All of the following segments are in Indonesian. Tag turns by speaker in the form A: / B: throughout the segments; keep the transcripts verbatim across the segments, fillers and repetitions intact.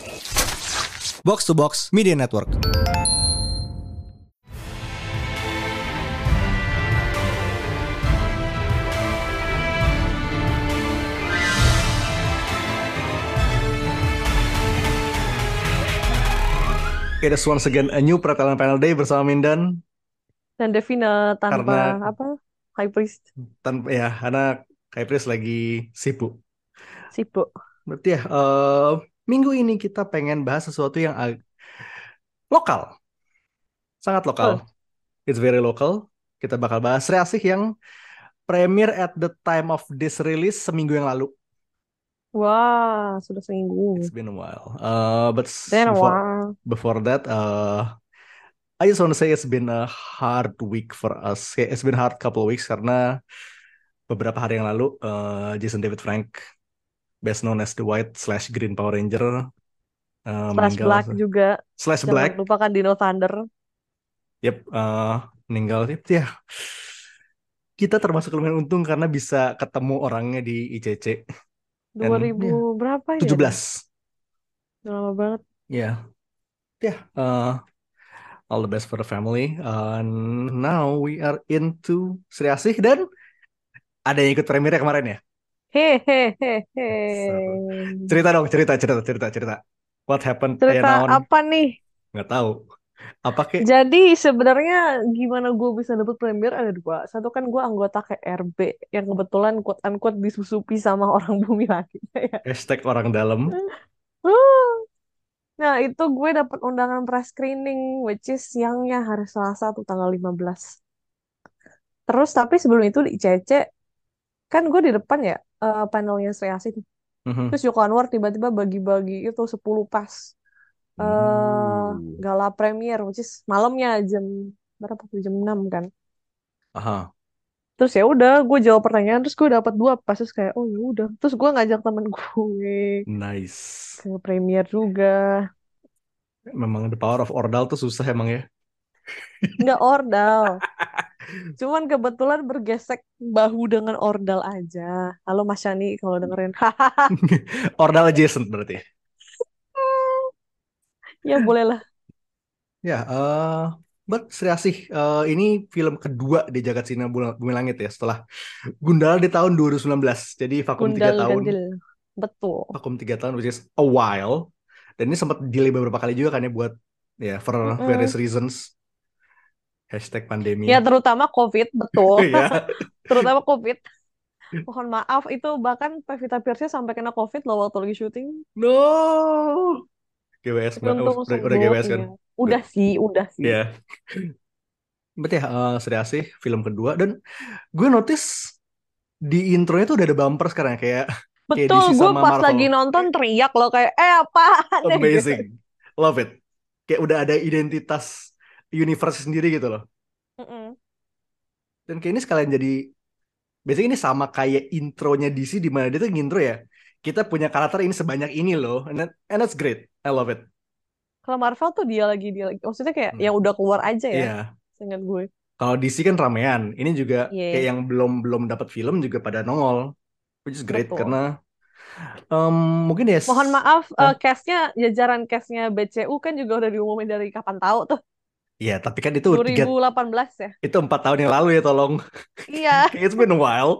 A: Box to Box Media Network. Okay, that's once again a new Pretelan Panel Day bersama Mindan
B: dan Devina tanpa
A: karena
B: apa High Priest
A: tanpa ya karena Kak Pris lagi sibuk.
B: sibuk.
A: Berarti ya eh, minggu ini kita pengen bahas sesuatu yang ag- lokal, sangat lokal.
B: Betul.
A: It's very local. Kita bakal bahas Sri Asih yang premiere at the time of this release seminggu yang lalu.
B: Wah, sudah
A: It's
B: seminggu.
A: been a while. Uh, but s-
B: Dan
A: before
B: wah,
A: before that, uh, I just want to say it's been a hard week for us. Kayak It's been hard couple of weeks karena beberapa hari yang lalu uh, Jason David Frank, best known as the White slash Green Power Ranger, uh,
B: Slash
A: meninggal.
B: Black juga.
A: Slash
B: Jangan
A: Black,
B: lupakan Dino Thunder.
A: yep, uh, meninggal. Yep, ya, kita termasuk lumayan untung karena bisa ketemu orangnya di I C C.
B: dua
A: Dan
B: ribu
A: ya,
B: berapa ya dah?
A: tujuh belas.
B: Udah lama banget.
A: Ya, ya, uh, all the best for the family. And now we are into Sri Asih dan ada yang ikut premiere kemarin ya.
B: Hehehe.
A: Seru. Cerita dong, cerita, cerita, cerita, cerita. What happened? Ayah
B: Cerita
A: naon?
B: apa nih?
A: Nggak tahu. Apa kek?
B: Jadi sebenarnya gimana gue bisa dapet premier ada dua. Satu kan gue anggota K R B yang kebetulan quote unquote disusupi sama orang bumi langit. Ya.
A: Hashtag orang dalam.
B: Nah, itu gue dapat undangan press screening, which is siangnya hari Selasa tuh tanggal lima belas. Terus tapi sebelum itu di I C C, kan gue di depan ya, eh, panelnya Sri Asih tuh.
A: Mhm.
B: Terus Joko Anwar tiba-tiba bagi-bagi itu sepuluh pas eh
A: Uh.
B: gala premier, which is malamnya jam berapa tuh? Jam enam kan.
A: Aha.
B: Terus ya udah, gue jawab pertanyaan, terus gue dapat dua pas, terus kayak oh ya udah. Terus gue ngajak temen gue
A: Nice.
B: ke premier juga.
A: Memang the power of Ordal tuh susah emang ya.
B: Nggak ordal. Cuman kebetulan bergesek bahu dengan ordal aja. Halo Mas Yani kalau dengerin. Hahaha.
A: Ordal adjacent berarti.
B: Ya bolehlah.
A: Ya, eh but Sri Asih, eh, ini film kedua di Jagat Cina Bula- Bumi Langit ya setelah Gundala di tahun dua ribu sembilan belas. Jadi vakum tiga
B: Gundal
A: tahun,
B: ganjil. Betul.
A: vakum tiga tahun, which is a while. Dan ini sempat delay beberapa kali juga kan ya buat ya for various
B: Mm-mm.
A: reasons. Hashtag
B: Ya
A: pandemi.
B: terutama COVID, betul.
A: Ya.
B: Terutama COVID. Mohon maaf itu bahkan Pevita Pierce sampai kena COVID loh waktu lagi syuting.
A: No. G W S
B: Tapi
A: nggak?
B: untung
A: Udah, udah
B: sembuh.
A: G W S kan?
B: Iya.
A: Good.
B: Udah sih, udah sih.
A: Ya. Berarti ya eh, Sri Asih film kedua dan gue notice di intronya tuh udah ada bumper sekarang ya, kayak kayak
B: Betul,
A: D C
B: gue
A: sama
B: pas
A: Marvel.
B: lagi nonton teriak loh kayak eh apaan ya gitu.
A: Amazing. Love it. Kayak udah ada identitas universe sendiri gitu loh.
B: Mm-mm.
A: Dan kayak ini sekalian jadi biasanya ini sama kayak intronya D C di mana dia tuh ngintro ya. Kita punya karakter ini sebanyak ini loh. And, that- and that's great. I love it.
B: Kalau Marvel tuh dia lagi dia lagi. Maksudnya kayak
A: Hmm.
B: yang udah keluar aja ya,
A: Iya.
B: seingat gue.
A: Kalau D C kan ramean. Ini juga kayak
B: Iya,
A: yang belum belum dapat film juga pada nongol. Which is great
B: betul.
A: karena um, mungkin ya
B: Mohon
A: yes.
B: maaf, eh, castnya jajaran castnya B C U kan juga udah diumumin dari kapan tahu tuh,
A: Iya, tapi kan itu tiga
B: dua ribu delapan belas ya.
A: itu empat tahun yang lalu ya tolong.
B: Iya.
A: Kayak it's been a while.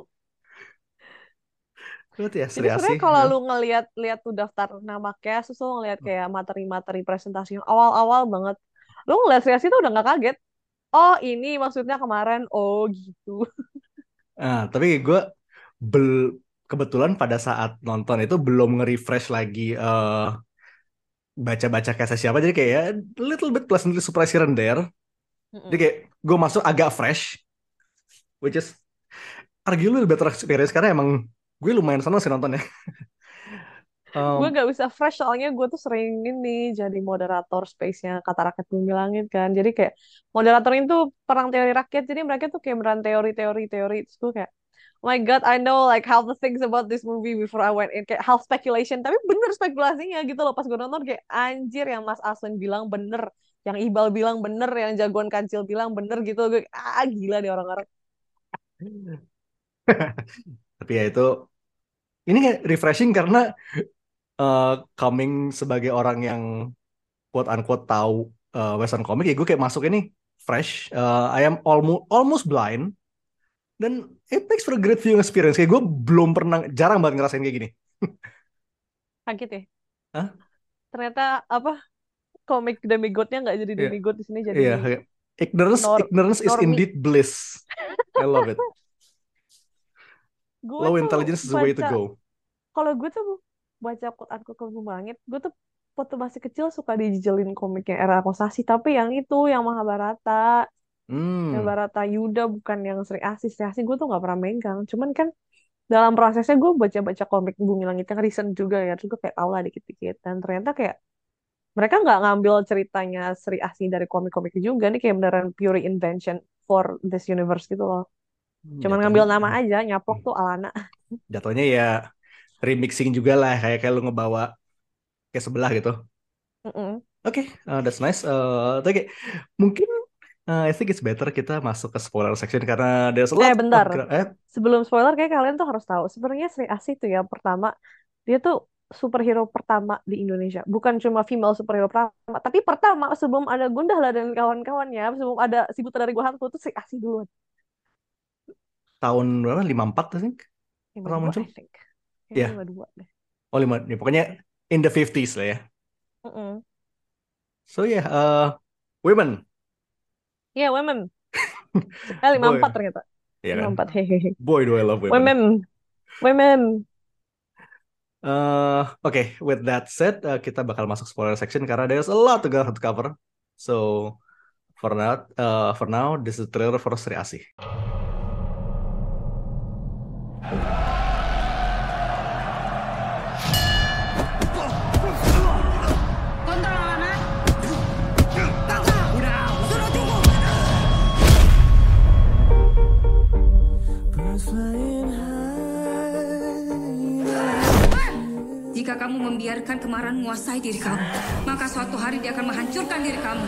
A: Berarti ya Sri
B: Jadi
A: Asih.
B: sebenarnya kalau
A: Ya.
B: lu ngelihat lihat tuh daftar nama cast, terus lu ngelihat kayak materi-materi presentasi yang awal-awal banget, lu ngeliat reaksi tuh udah nggak kaget. Oh ini maksudnya kemarin, oh gitu.
A: Nah, tapi gue bel kebetulan pada saat nonton itu belum nge-refresh lagi eh, baca-baca kisah siapa jadi kayak ya, little bit pleasantly surprised here and there. Jadi
B: Mm-mm.
A: kayak gue masuk agak fresh, which is arguably better experience karena emang gue lumayan seneng sih nontonnya.
B: Gue
A: Um,
B: gak bisa fresh soalnya gue tuh sering ini jadi moderator space-nya Kata Rakyat Bumi Langit kan. Jadi kayak moderator itu perang teori rakyat. Jadi mereka tuh kayak beran teori-teori teori. Terus gue kayak, oh my God, I know like half the things about this movie before I went in. Kayak half speculation. Tapi bener spekulasinya gitu loh. Pas gue nonton kayak anjir yang Mas Aswin bilang bener. Yang Iqbal bilang bener. Yang jagoan kancil bilang bener gitu. Gue ah gila deh orang-orang.
A: tapi ya itu ini kayak refreshing karena eh, coming sebagai orang yang quote unquote tahu eh, Western comic ya gue kayak masuk ini fresh. Eh, I am almost almost blind dan it makes for a great viewing experience. Kayak gue belum pernah jarang banget ngerasain kayak gini.
B: Kaget ya.
A: Hah?
B: Ternyata apa komik demigod-nya nggak jadi
A: Iya,
B: demigod di sini jadi
A: iya. Kayak ignorance,
B: nor
A: ignorance is
B: normi.
A: indeed bliss. I love it.
B: Gue
A: Low
B: tuh
A: intelligence is the way to
B: baca
A: go.
B: kalau gue tuh baca quote unquote Kampung Langit, gue tuh waktu masih kecil suka dijelin komiknya era Kosasi, tapi yang itu yang Mahabharata, yang
A: Hmm,
B: Barata Yuda bukan yang Sri Asih. Sri Asih gue tuh nggak pernah megang. Cuman kan dalam prosesnya gue baca-baca komik Bumi Langit yang recent juga ya, terus gue kayak tau lah dikit-dikit. Dan ternyata kayak mereka nggak ngambil ceritanya Sri Asih dari komik-komik juga, nih kayak beneran pure invention for this universe gitu loh. Cuman ngambil nama
A: jatuhnya,
B: aja, nyaplok tuh Alana.
A: jatuhnya ya remixing juga lah kayak kayak lu ngebawa ke sebelah gitu.
B: Mm-mm.
A: Oke, uh, that's nice. Uh, Oke, mungkin uh, I think it's better kita masuk ke spoiler section karena there's a lot
B: Eh
A: of
B: bentar,
A: gra- eh
B: sebelum spoiler kayak kalian tuh harus tahu. Sebenarnya Sri Asih tuh ya pertama, dia tuh superhero pertama di Indonesia. Bukan cuma female superhero pertama, tapi pertama sebelum ada Gundala dan kawan-kawannya, sebelum ada si Buta dari Gua Hantu tuh Sri Asih duluan.
A: tahun berapa? lima puluh empat I think
B: lima
A: pertama
B: dua
A: muncul.
B: I think. Kayaknya
A: Ya,
B: lima dua deh.
A: oh lima, ya, pokoknya in the fifties lah ya.
B: Mm-mm.
A: So yeah, uh, women,
B: Iya, women. Eh, lima
A: boy,
B: empat ternyata.
A: ya
B: lima
A: kan?
B: empat hehehe.
A: Boy do I love women.
B: Women, women.
A: Uh, Oke, with that said, uh, kita bakal masuk spoiler section karena there's a lot to go to cover. So for now, uh, for now, this is the trailer for Sri Asih.
C: Kontrol anak. Udah, suruh tunggu. Jika kamu membiarkan kemarahan menguasai diri kamu, maka suatu hari dia akan menghancurkan diri kamu.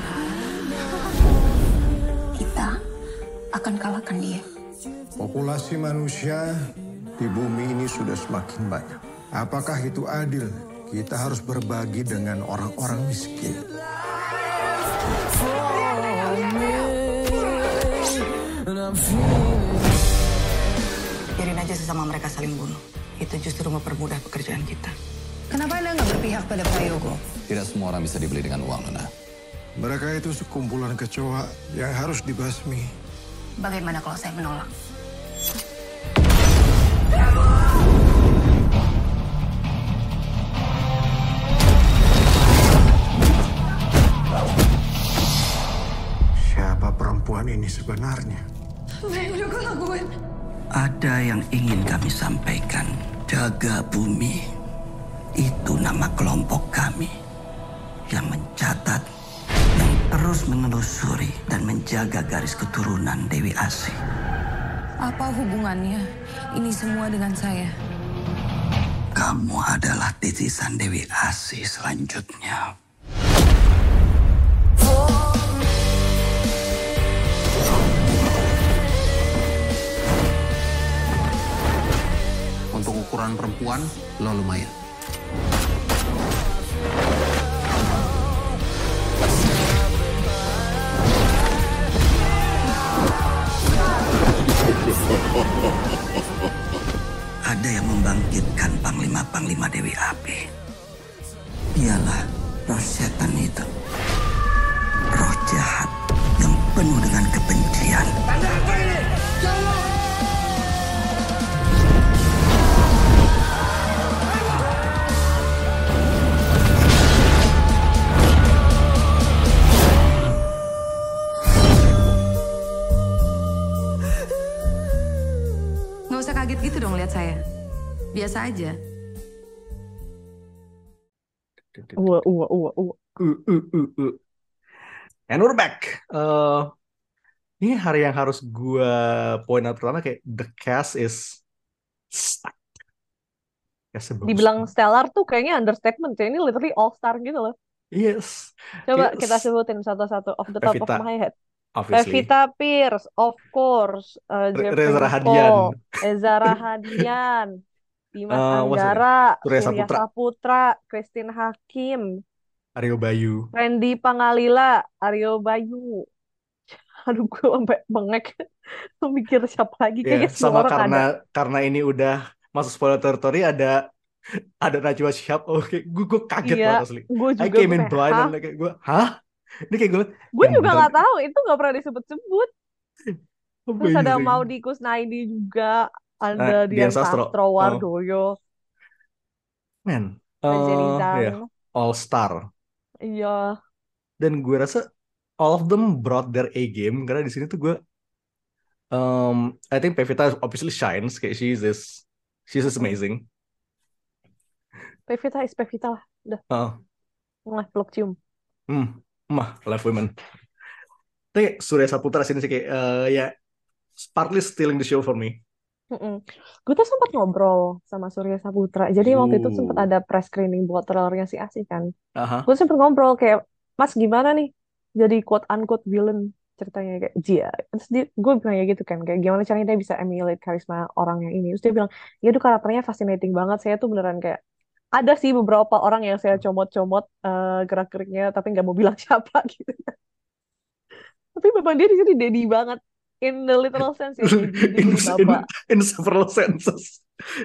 C: Kita akan kalahkan dia.
D: Populasi manusia di bumi ini sudah semakin banyak. Apakah itu adil? Kita harus berbagi dengan orang-orang miskin.
C: Biarin aja sesama mereka saling bunuh. Itu justru mempermudah pekerjaan kita. Kenapa Anda nggak berpihak pada Prayogo?
E: Tidak semua orang bisa dibeli dengan uang, Nona.
D: Mereka itu sekumpulan kecoa yang harus dibasmi.
C: Bagaimana kalau saya menolak?
D: Siapa perempuan ini sebenarnya?
C: Apa yang udah gue lakuin?
F: Ada yang ingin kami sampaikan. Jaga Bumi. Itu nama kelompok kami. Yang mencatat, yang terus menelusuri dan menjaga garis keturunan Dewi Asih.
C: Apa hubungannya ini semua dengan saya?
F: Kamu adalah titisan Dewi Asih selanjutnya.
E: Untuk ukuran perempuan, lo lumayan.
F: Ada yang membangkitkan Panglima-Panglima Dewi Api. Dialah roh setan itu. Roh jahat yang penuh dengan kebencian.
C: Nggak usah kaget gitu dong lihat saya. Biasa aja.
B: Uwa, uwa, uwa, uwa.
A: Uh, uh, uh, uh. And we're back. Uh, ini hari yang harus gue point out pertama kayak the cast is stacked. Castnya bagus.
B: Dibilang stellar tuh kayaknya understatement ya. Ini literally all star gitu loh.
A: Yes.
B: Coba
A: Kayak
B: kita sebutin satu-satu off the top of
A: Pevita,
B: my head.
A: obviously.
B: Pevita Pierce, of course. Uh,
A: Re-
B: Jeffrey
A: Reza Rahadian.
B: Nicole, Eza Rahadian, Dimas
A: Eh, what's her name?
B: Anggara,
A: Surya
B: Surya
A: Saputra,
B: Saputra, Christine Hakim,
A: Aryo Bayu.
B: Randy Pangalila, Aryo Bayu. Aduh, gue sampai bengek mikir siapa lagi.
A: Ya,
B: Kayaknya semua
A: sama
B: orang
A: karena
B: ada.
A: karena ini udah masuk spoiler territory, ada ada Najwa Shihab. Oke, gue gue kaget
B: Iya,
A: banget asli.
B: gue
A: I
B: juga
A: came
B: gue
A: in
B: kayak,
A: blind
B: hah?
A: and like gue, hah? Ini kayak gue
B: Gue
A: yang
B: juga
A: bener
B: nggak tahu, itu nggak pernah disebut-sebut. Terus ada
A: amazing.
B: Maudy Kusnaidi juga,
A: Nah,
B: ada
A: Dian
B: Dian
A: Sastro.
B: Sastro
A: Oh,
B: Wardoyo,
A: man.
B: ada Jenny
A: Eh ya,
B: Zhang.
A: all star.
B: Iya,
A: Dan gue rasa all of them brought their A game karena di sini tuh gue um I think Pevita obviously shines kayak she's this she's just
B: mm.
A: amazing.
B: Pevita is Pevita lah. Udah,
A: Heeh.
B: mulai peluk cium.
A: Hmm, mah love women. Tapi Surya Saputra sini sih kayak eh, ya partly stealing the show for me.
B: Mm-mm. Gue tuh sempat ngobrol sama Surya Saputra. Jadi waktu itu sempat
A: Ooh.
B: ada press screening buat trailernya si Asi kan.
A: Aha.
B: Gue sempat ngobrol kayak, Mas gimana nih jadi quote unquote villain ceritanya kayak dia. Terus dia, gue bilang ya gitu kan, kayak gimana caranya dia bisa emulate karisma orang yang ini. Terus dia bilang, ya itu karakternya fascinating banget. Saya tuh beneran kayak ada sih beberapa orang yang saya comot-comot eh, gerak-geriknya, tapi nggak mau bilang siapa gitu. Tapi memang dia di sini daddy banget. In the literal sense ya, daddy. Dia
A: in,
B: jadi
A: in
B: bapak.
A: in several senses.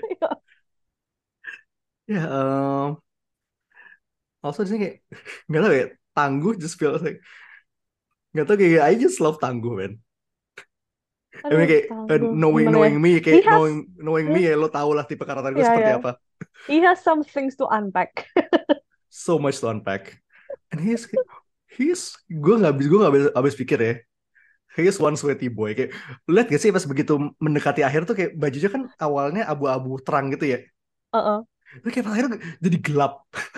A: Ya, um, also di sini kayak nggak tahu ya, Tangguh just feels like nggak tahu kayak I just love Tangguh, man. I mean
B: Aduh,
A: kayak uh,
B: tangguh.
A: knowing
B: Gimana ya?
A: knowing me
B: He
A: kayak
B: has,
A: knowing knowing me
B: hmm,
A: ya lo tau lah tipe karakter gue
B: ya
A: seperti
B: ya.
A: apa.
B: He has some things to unpack.
A: So much to unpack. And he's he's gue nggak habis gue nggak habis, habis pikir ya. He is one sweaty boy. Kayak lihat gak sih pas begitu mendekati akhir tuh kayak bajunya kan awalnya abu-abu terang gitu ya.
B: Uh-uh.
A: Tapi kayak akhirnya jadi gelap.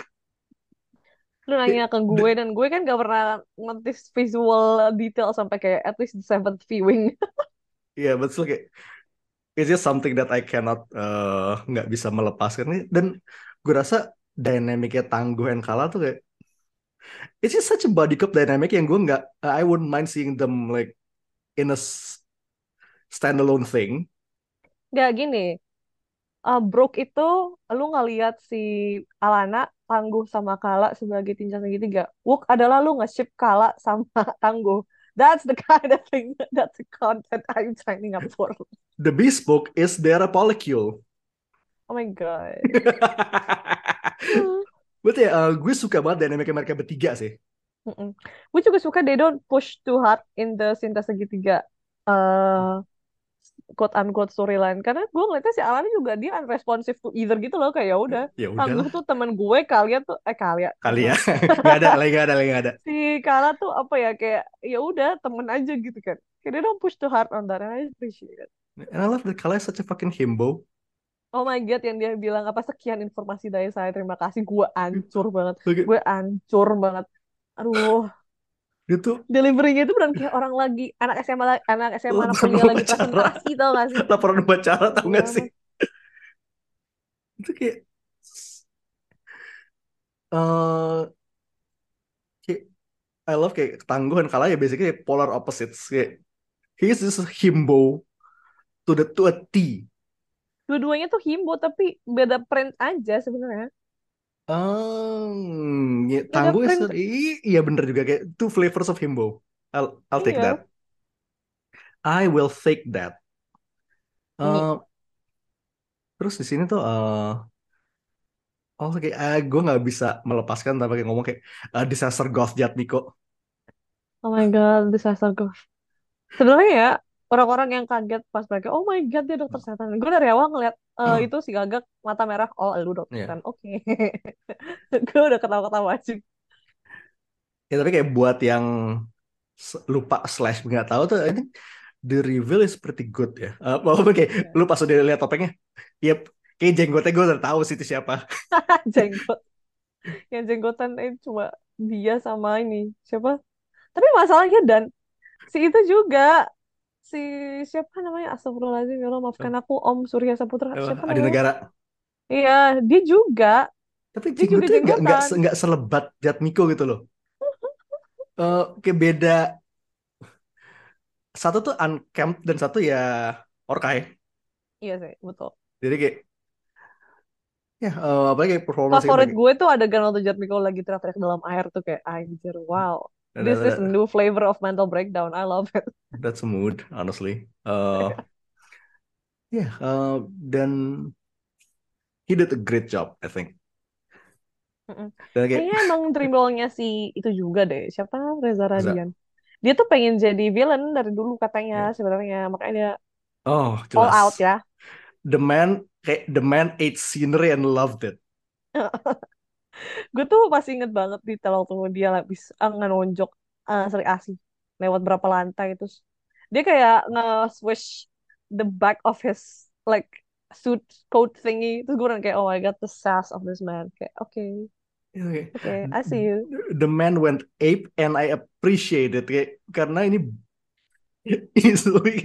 B: Lu nanya
A: Kayak,
B: ke gue
A: the-
B: dan gue kan gak pernah notice visual detail sampai kayak at least the seventh viewing.
A: yeah, but still kayak it's just something that I cannot eh, nggak bisa melepaskan nih. Dan gue rasa dynamicnya Tangguh and Kala tuh kayak it's just such a body cop dynamic yang gue nggak I wouldn't mind seeing them like in a s- standalone thing.
B: Gak gini, uh, Brooke itu lu ngeliat si Alana Tangguh sama Kala sebagai tinjau segitiga. Wook adalah lu nge-ship Kala sama Tangguh. That's the kind of thing, that's the content I'm signing up for.
A: The Bespoke is their polycule.
B: Oh my God.
A: Betul ya, eh, gue suka banget dynamic mereka bertiga sih.
B: Mm-mm. Gue juga suka they don't push too hard in the Cinta Segitiga uh, quote unquote storyline karena gue ngeliatnya si Alana juga dia unresponsive to either gitu loh kayak ya udah
A: Ya
B: Tangguh
A: udahlah,
B: tuh temen gue kalian tuh eh kalian
A: kali ya.
B: salah.
A: Nggak ada, lagi nggak ada, lagi nggak ada.
B: Si Kala tuh apa ya kayak ya udah temen aja gitu kan kayak they don't push too hard on that and I appreciate it.
A: And I love that Kala is such a fucking himbo.
B: Oh my God yang dia bilang apa sekian informasi dari saya terima kasih gue ancur banget
A: Like,
B: gue ancur banget aduh
A: dia tuh
B: deliverynya itu benar kayak orang lagi anak S M A la- anak S M A anak
A: laporan
B: kuliah lagi
A: upacara.
B: presentasi tau gak sih?
A: Laporan upacara tau
B: Gila
A: gak sih?
B: banget.
A: Itu kayak eh kayak I love kayak Tangguh dan Kala ya basically kayak polar opposites. Kayak he is this himbo to the to a T.
B: Dua-duanya tuh himbo tapi beda print aja sebenarnya.
A: Um, ya,
B: Beda
A: Tangguh is
B: print.
A: i- iya bener juga kayak two flavors of himbo. I'll I'll take that.
B: Iya.
A: I will take that.
B: Ini.
A: Eh, terus di sini tuh eh oh kayak eh, gue nggak bisa melepaskan tanpa kayak ngomong kayak eh, disaster goth Jatmiko.
B: Oh my God, disaster girl. Sebenarnya ya orang-orang yang kaget pas mereka, oh my God dia dokter setan. Gue dari awal ngeliat eh, itu si Gagak mata merah, oh lu dokter
A: Iya.
B: setan, oke. Gue udah ketawa-ketawa aja.
A: Ya tapi kayak buat yang s- lupa slash nggak tahu tuh, I think the reveal is pretty good ya. Uh, walaupun kayak
B: Iya.
A: lu pas udah lihat topengnya, yep, kayak jenggotnya gue udah tahu sih itu siapa.
B: Jenggot. Yang jenggotan itu cuma dia sama ini siapa? Tapi masalahnya dan si itu juga si siapa namanya Astagfirullahaladzim ya Allah maafkan aku Om Surya Saputra
A: Eh,
B: siapa
A: Adi
B: namanya?
A: Negara.
B: Iya dia juga
A: Tapi
B: dia juga
A: jenggotnya nggak nggak
B: jenggotan.
A: se- nggak selebat Jatmiko gitu loh. Eh, kayak beda. Satu tuh unkempt dan satu ya orkai.
B: Iya sih betul.
A: Jadi kayak Ya, eh, apalagi performance
B: Favorit
A: kayak
B: gue tuh adegan waktu Jet Miko lagi teriak-teriak dalam air tuh kayak anjir, wow.
A: that,
B: This is a
A: that,
B: new flavor of mental breakdown. I love it.
A: that's a mood, honestly. Uh, yeah, uh, dan he did a great job, I think.
B: Mm-mm.
A: Dan kayak
B: Kayaknya emang dream role-nya si itu juga deh. Siapa? Reza
A: bisa,
B: Radian. Dia tuh pengen jadi villain dari dulu katanya
A: ya.
B: sebenarnya. Makanya dia
A: Oh,
B: all out
A: jelas.
B: ya.
A: The man, kayak the man ate scenery and loved it.
B: Gue tuh masih inget banget detail waktu dia habis uh, ngenonjok uh, Sri Asih lewat berapa lantai terus dia kayak nge-swish the back of his like suit coat thingy terus gue kayak oh my god the sass of this man kayak oke okay,
A: Okay.
B: oke okay, I see you.
A: The man went ape and I appreciate it kayak, karena ini it's,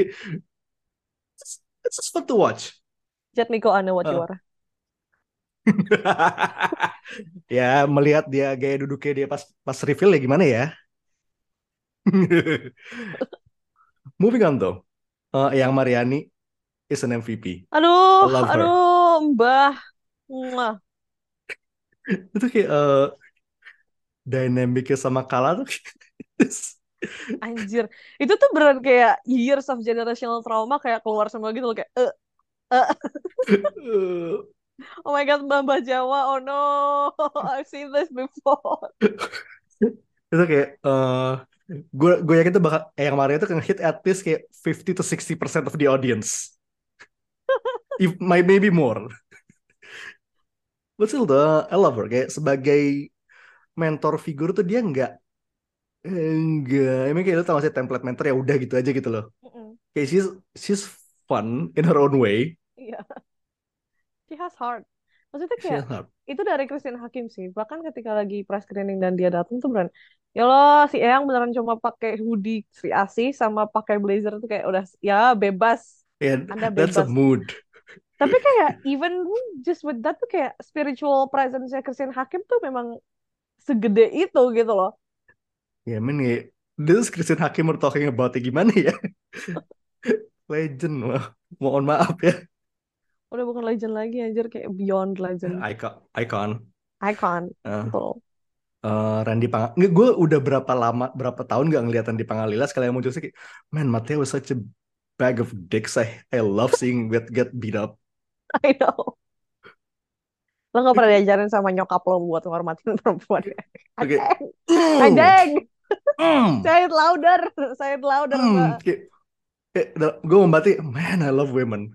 A: it's just fun to watch.
B: Jet Miko, I know what you
A: Uh.
B: are.
A: Ya melihat dia gaya duduknya dia pas pas reveal ya gimana ya. Moving on though, uh, yang Mariani is an M V P. I
B: Aduh
A: love her.
B: aduh Mbah. Mwah.
A: Itu kayak uh, dynamicnya sama Kala tuh.
B: Anjir itu tuh beneran kayak years of generational trauma kayak keluar semua gitu loh kayak eh eh. Oh my god, Mbah Mbah Jawa, oh no, I've seen this before.
A: Itu kayak uh, gue gue yakin tuh bakal eh, yang kemarin itu hit at least kayak fifty to sixty percent of the audience. If might maybe more. But still though, I love her. Kayak sebagai mentor figur tuh dia nggak enggak. Emang kayak lu tau gak sih template mentor ya udah gitu aja gitu loh.
B: Mm-mm.
A: Kayak she's she's fun in her own way.
B: Iya, she has heart. Maksudnya
A: She
B: kayak
A: has heart.
B: itu dari Christine Hakim sih. Bahkan ketika lagi press screening dan dia datang tuh beneran, ya loh si Eyang beneran cuma pakai hoodie Sri Asih sama pakai blazer tuh kayak udah ya bebas,
A: Yeah,
B: Anda
A: that's a
B: bebas.
A: mood.
B: Tapi kayak even just with that tuh kayak spiritual presence-nya Christine Hakim tuh memang segede itu gitu loh.
A: Ya, yeah, I mean, yeah, this is Christine Hakim we're talking about ya gimana ya? Legend, wah. Mohon maaf ya.
B: Udah bukan legend lagi anjir kayak beyond legend.
A: Icon, icon.
B: Icon.
A: Uh,
B: Betul.
A: uh, Randy Pang, nggak, gue udah berapa lama, berapa tahun gak ngeliat Randy Pangalila sekali yang muncul sih kayak, man, Mateo was such a bag of dicks. I, I love seeing get get beat up.
B: I know. Lo gak pernah diajarin sama nyokap lo buat ngormatin perempuan ya?
A: Oke.
B: Anjing! Anjing!
A: Mm.
B: Say it louder! Say it louder,
A: Mm.
B: Mbak.
A: Kayak, kayak, gue membati, man, I love women.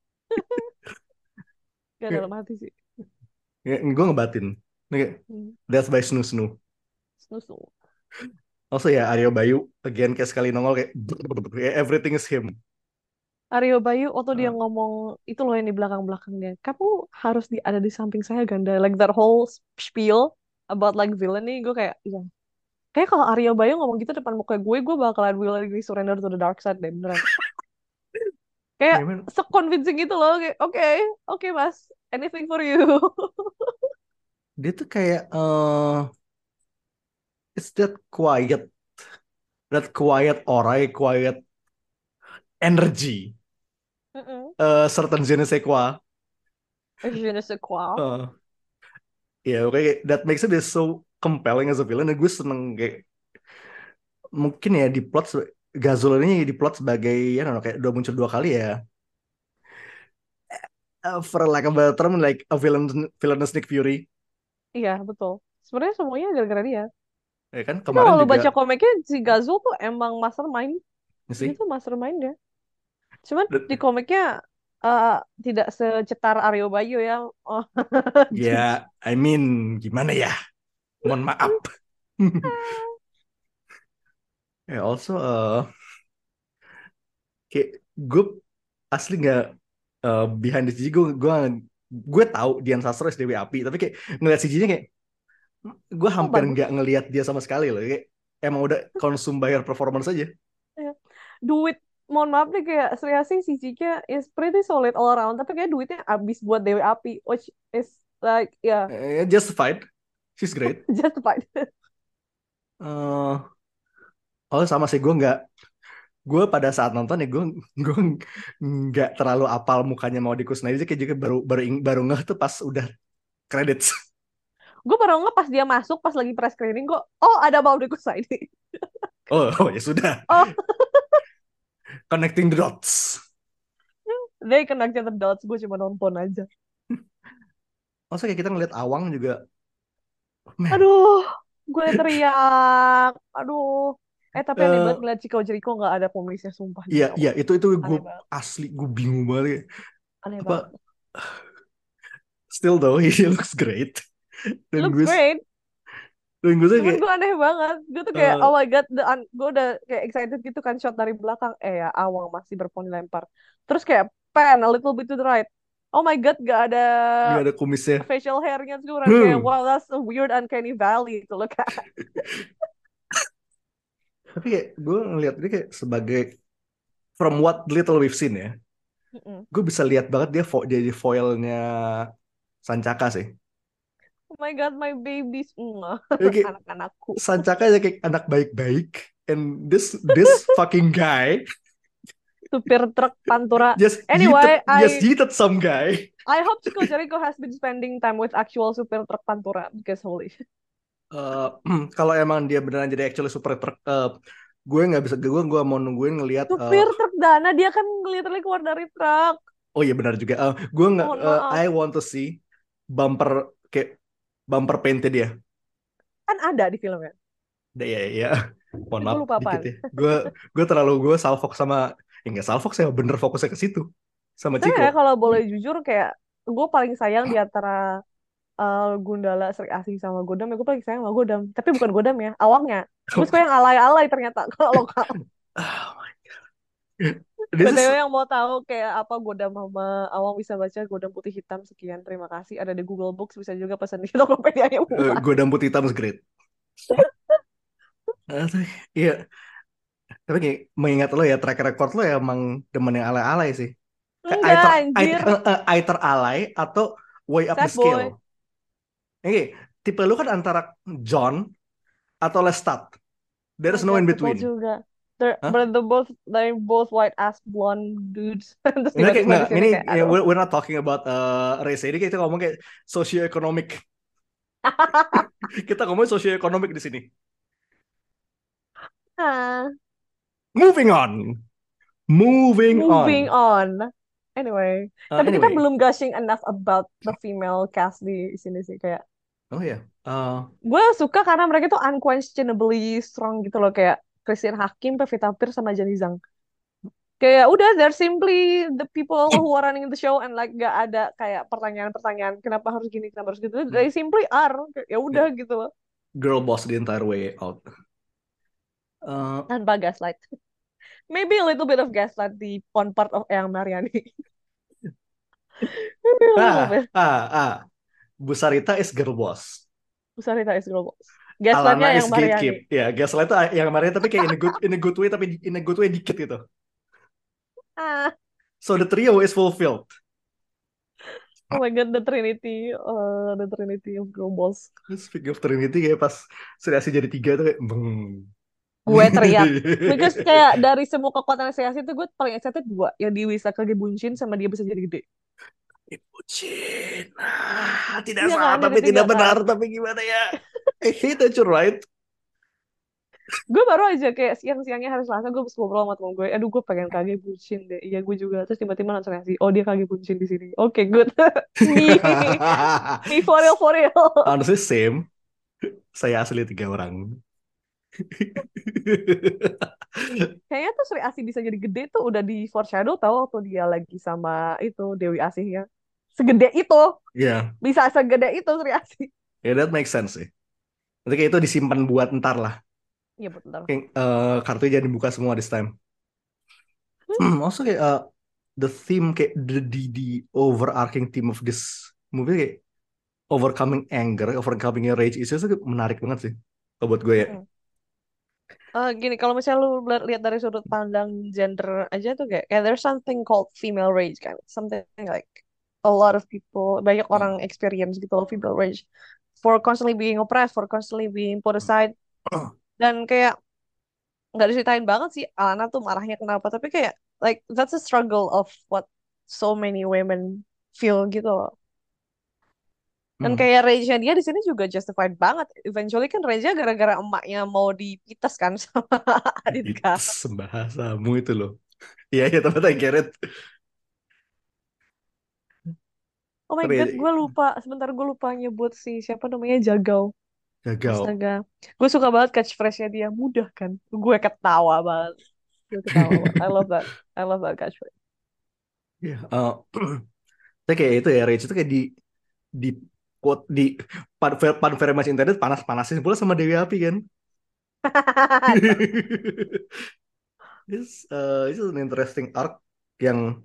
B: Gak dalam hati sih.
A: Ya, gue ngebatin. Kayak,
B: Hmm.
A: that's by Snoo Snoo.
B: Snusnu.
A: Also ya, Aryo Bayu, again kayak sekali nongol kayak, kayak everything is him.
B: Aryo Bayu, waktu dia
A: Uh,
B: ngomong, itu loh yang di belakang-belakang dia. Kamu harus di, ada di samping saya, Ganda. Like that whole spiel about like villainy, gue kayak, iya. Kayak kalau Aryo Bayu ngomong gitu depan muka gue, gue bakalan willingly surrender to the dark side deh, beneran. Kayak
A: ya, man,
B: se-convincing gitu loh, kayak, oke, okay, oke okay, mas, anything for you.
A: dia tuh kayak, uh, it's that quiet, that quiet aura, quiet energy,
B: Mm-mm.
A: uh, certain je ne sais quoi.
B: Je ne sais quoi.
A: Uh, ya, oke, kayak, that makes it so compelling as a villain. Dan gue seneng kayak, mungkin ya di plot, se- Gazul ini di plot sebagai, ya, don't know, kayak udah muncul dua kali ya. Uh, for lack of a term, like a villain, villainous Nick Fury.
B: Iya, betul. Sebenarnya semuanya gara-gara dia.
A: Ya kan,
B: Tapi
A: kemarin
B: kalau lu
A: juga,
B: baca komiknya, si Gazul tuh emang mastermind.
A: ya
B: Dia
A: sih.
B: tuh mastermind ya. Cuman di
A: Dan-
B: komiknya eh, tidak secetar Aryo Bayu ya. Oh,
A: Ya, I mean, gimana ya? Mohon maaf. Ya, also, uh, kayak gue asli nggak uh, behind the C G, gue gue gue tahu Dian Sastro S D W Api, tapi kayak ngeliat C G-nya kayak gue
B: oh
A: hampir
B: bagus.
A: nggak ngelihat dia sama sekali loh. Kayak emang udah konsum bayar performance aja.
B: Ya. Duit, mohon maaf nih kayak Sri Asih C G-nya is pretty solid all around. Tapi kayak duitnya habis buat Dewi Api, which is like, ya,
A: Eh, justified, she's great.
B: justified.
A: Uh, oh sama sih gue nggak gue pada saat nonton ya gue gue nggak terlalu apal mukanya mau Kusnaidi, kayak juga baru baru ing- baru ngeh tuh pas udah credits.
B: Gue baru nge pas dia masuk pas lagi press screening kok. Oh ada Maudy Kussaidi.
A: Oh, oh ya sudah.
B: Oh
A: Connecting the dots.
B: they connected the dots. Gue cuma nonton aja.
A: Maksudnya kayak kita ngeliat Awang juga, man.
B: Aduh, gue teriak. Aduh. Eh tapi aneh banget
A: Eh,
B: ngeliat Chico Jericho gak ada pemisnya sumpah demi
A: Iya,
B: Allah.
A: iya itu itu gue
B: Aneh banget.
A: asli gue bingung banget.
B: Aneh
A: Apa
B: banget.
A: still though he looks great. Dan
B: Looks
A: gue
B: great.
A: dan gue tuh
B: Cuman
A: kayak
B: gue aneh banget. Gue tuh kayak,
A: eh,
B: oh my God. The un- gue udah kayak excited gitu kan shot dari belakang. Eh ya, Awang masih berponi lempar. Terus kayak pan a little bit to the right. Oh my God, gak ada
A: nggak ada kumisnya.
B: facial hairnya. Terus gue orang kayak,
A: Hmm.
B: wow, that's a weird uncanny valley to look at.
A: Tapi kayak gue ngeliat ini kayak sebagai from what little we've seen ya,
B: Mm-mm.
A: gue bisa lihat banget dia fo jadi foilnya Sancaka sih.
B: Oh my God, my babies. Mwah.
A: Jadi kayak
B: Anak-anakku.
A: Sancaka aja kayak anak baik-baik, and this this fucking guy
B: Supir truk Pantura.
A: just
B: Anyway,
A: yeeted, just
B: I
A: yeeted some guy.
B: I hope Chico Jericho has been spending time with actual supir truk Pantura because holy shit.
A: Eh, kalau emang dia beneran jadi actually super truck, eh, gue nggak bisa gue gue mau nungguin ngelihat. eh,
B: Supir truk Dana dia kan literally keluar dari truk.
A: oh iya benar juga. Eh, gue nggak.
B: Mohon
A: eh,
B: maaf.
A: I want to see bumper kayak bumper painted dia.
B: Kan ada di filmnya.
A: Iya iya. Ya. Mohon
B: Gue
A: maaf
B: lupa
A: dikit
B: apaan.
A: ya. Gue gue terlalu gue salfok sama ya nggak salfok saya bener fokusnya ke situ sama
B: Tapi ya
A: Chico.
B: kalau boleh jujur kayak gue paling sayang di antara uh, Gundala, Sri Asih sama Godam ya gue paling sayang sama Godam. Tapi bukan Godam ya, Awangnya. Gue suka yang alay-alay ternyata kalau lokal.
A: Oh my God. This
B: B T W
A: is
B: yang mau tahu kayak apa Godam sama Awang bisa baca Godam putih hitam sekian. Terima kasih. Ada di Google Books bisa juga pesan di Tokopedia-nya
A: uh,
B: murah.
A: Godam Putih Hitam is great. Eh, tapi- Iya. Tapi kayak mengingat lo ya track record lo ya emang demen yang alay-alay sih. Kayak
B: Enggak
A: either,
B: anjir.
A: either, uh, uh, either alay atau way up the
B: Sad boy.
A: scale. Oke, tipe lu kan antara John atau Lestat. There's
B: Oh
A: no
B: my
A: in
B: God, betul
A: between.
B: juga. They're,
A: Hah?
B: but they're both they're both white ass blonde dudes. Terus
A: Ini kayak
B: tiba-tiba di
A: nggak,
B: sini
A: ini
B: kayak
A: ya,
B: aduh.
A: we're, we're not talking about uh, race. Ini kita ngomong kayak socio-economic. Kita ngomong socio-economic di sini.
B: Ah,
A: Moving on. Moving
B: moving
A: on.
B: on. Anyway,
A: Uh,
B: tapi kita
A: anyway.
B: belum gushing enough about the female cast di sini sih kayak.
A: Oh ya. Uh,
B: Gue suka karena mereka tuh unquestionably strong gitu loh kayak Christine Hakim, Pevita Pierce sama Jenny Zhang. Kayak udah they're simply the people who are running the show and like gak ada kayak pertanyaan-pertanyaan kenapa harus gini kenapa harus gitu. They simply are. Kayak, ya udah gitu loh.
A: girl boss the entire way out. Uh,
B: Tanpa gaslight. Maybe a little bit of gaslight di on part of Eyang Mariani. Maybe a little
A: ah,
B: bit.
A: ah, ah. Bu Sarita is girl boss.
B: Bu Sarita is girl boss.
A: Alana
B: Gaslightnya
A: is
B: Eyang Mariani.
A: gatekeep. Ya, gaslight itu yang Mariani tapi kayak in a good in a good way tapi in a good way dikit gitu.
B: Ah,
A: So the trio is fulfilled.
B: oh my God, the Trinity, uh, the Trinity of girl boss.
A: Speaking of Trinity kayak pas Sriasi jadi tiga tuh kayak beng.
B: Gue teriak. Because kayak dari semua kekuatan Sriasi itu gue paling excited dua. Yang di Wisaka Bunshin sama dia bisa jadi gede.
A: Ibu Cin. Ah, tidak
B: Iya
A: salah
B: kan,
A: tapi
B: jadi
A: tidak
B: tiga
A: benar
B: kan.
A: tapi gimana ya? I hate that you're right.
B: Gue baru aja kayak siang-siangnya hari Selasa gue habis ngobrol sama temen gue. Aduh gue pengen Kage Bunshin deh. Iya gue juga. Terus tiba-tiba langsung ngasih. Oh dia Kage Bunshin di sini. Oke okay, good. Me. Me for real for real.
A: Honestly same. Saya asli tiga orang.
B: Kayaknya tuh Sri Asih bisa jadi gede tuh udah di foreshadow tau waktu dia lagi sama itu Dewi Asih ya. Segede itu.
A: Iya.
B: Bisa segede itu Sri Asih.
A: Ya that makes sense sih. Nanti kayak itu disimpan buat ntar lah.
B: Iya betul.
A: Kayak uh, kartunya jadi dibuka semua this time. Hmm, also kayak uh, the theme kayak the, the the overarching theme of this movie kayak overcoming anger, overcoming rage issues itu menarik banget sih. Kalau buat gue ya.
B: Hmm. Uh, gini, kalau misalnya lu lihat dari sudut pandang gender aja tuh kayak, kayak there's something called female rage kan, something like a lot of people, banyak orang experience gitu loh female rage, for constantly being oppressed, for constantly being put aside, dan kayak nggak diceritain banget sih Alana tuh marahnya kenapa, tapi kayak like that's a struggle of what so many women feel gitu loh. Dan
A: Hmm.
B: kayak rage-nya dia di sini juga justified banget. Eventually kan rage-nya gara-gara emaknya mau dipites kan sama Adinka.
A: Itu bahasamu itu loh. Iya, iya, tapi I get it.
B: Oh my God,
A: Tapi
B: gue lupa. Sebentar gue lupa nyebut si siapa namanya Jagau.
A: gagal.
B: Astaga. Gue suka banget catchphrase-nya dia. Mudah kan? Gue ketawa banget. Gue ketawa banget. I love that. I love that catchphrase.
A: Iya, eh, tapi kayak itu ya, Rage itu kayak di di quote di part, part very much internet panas-panasin pula sama Dewi Api kan. This uh, this is an interesting arc yang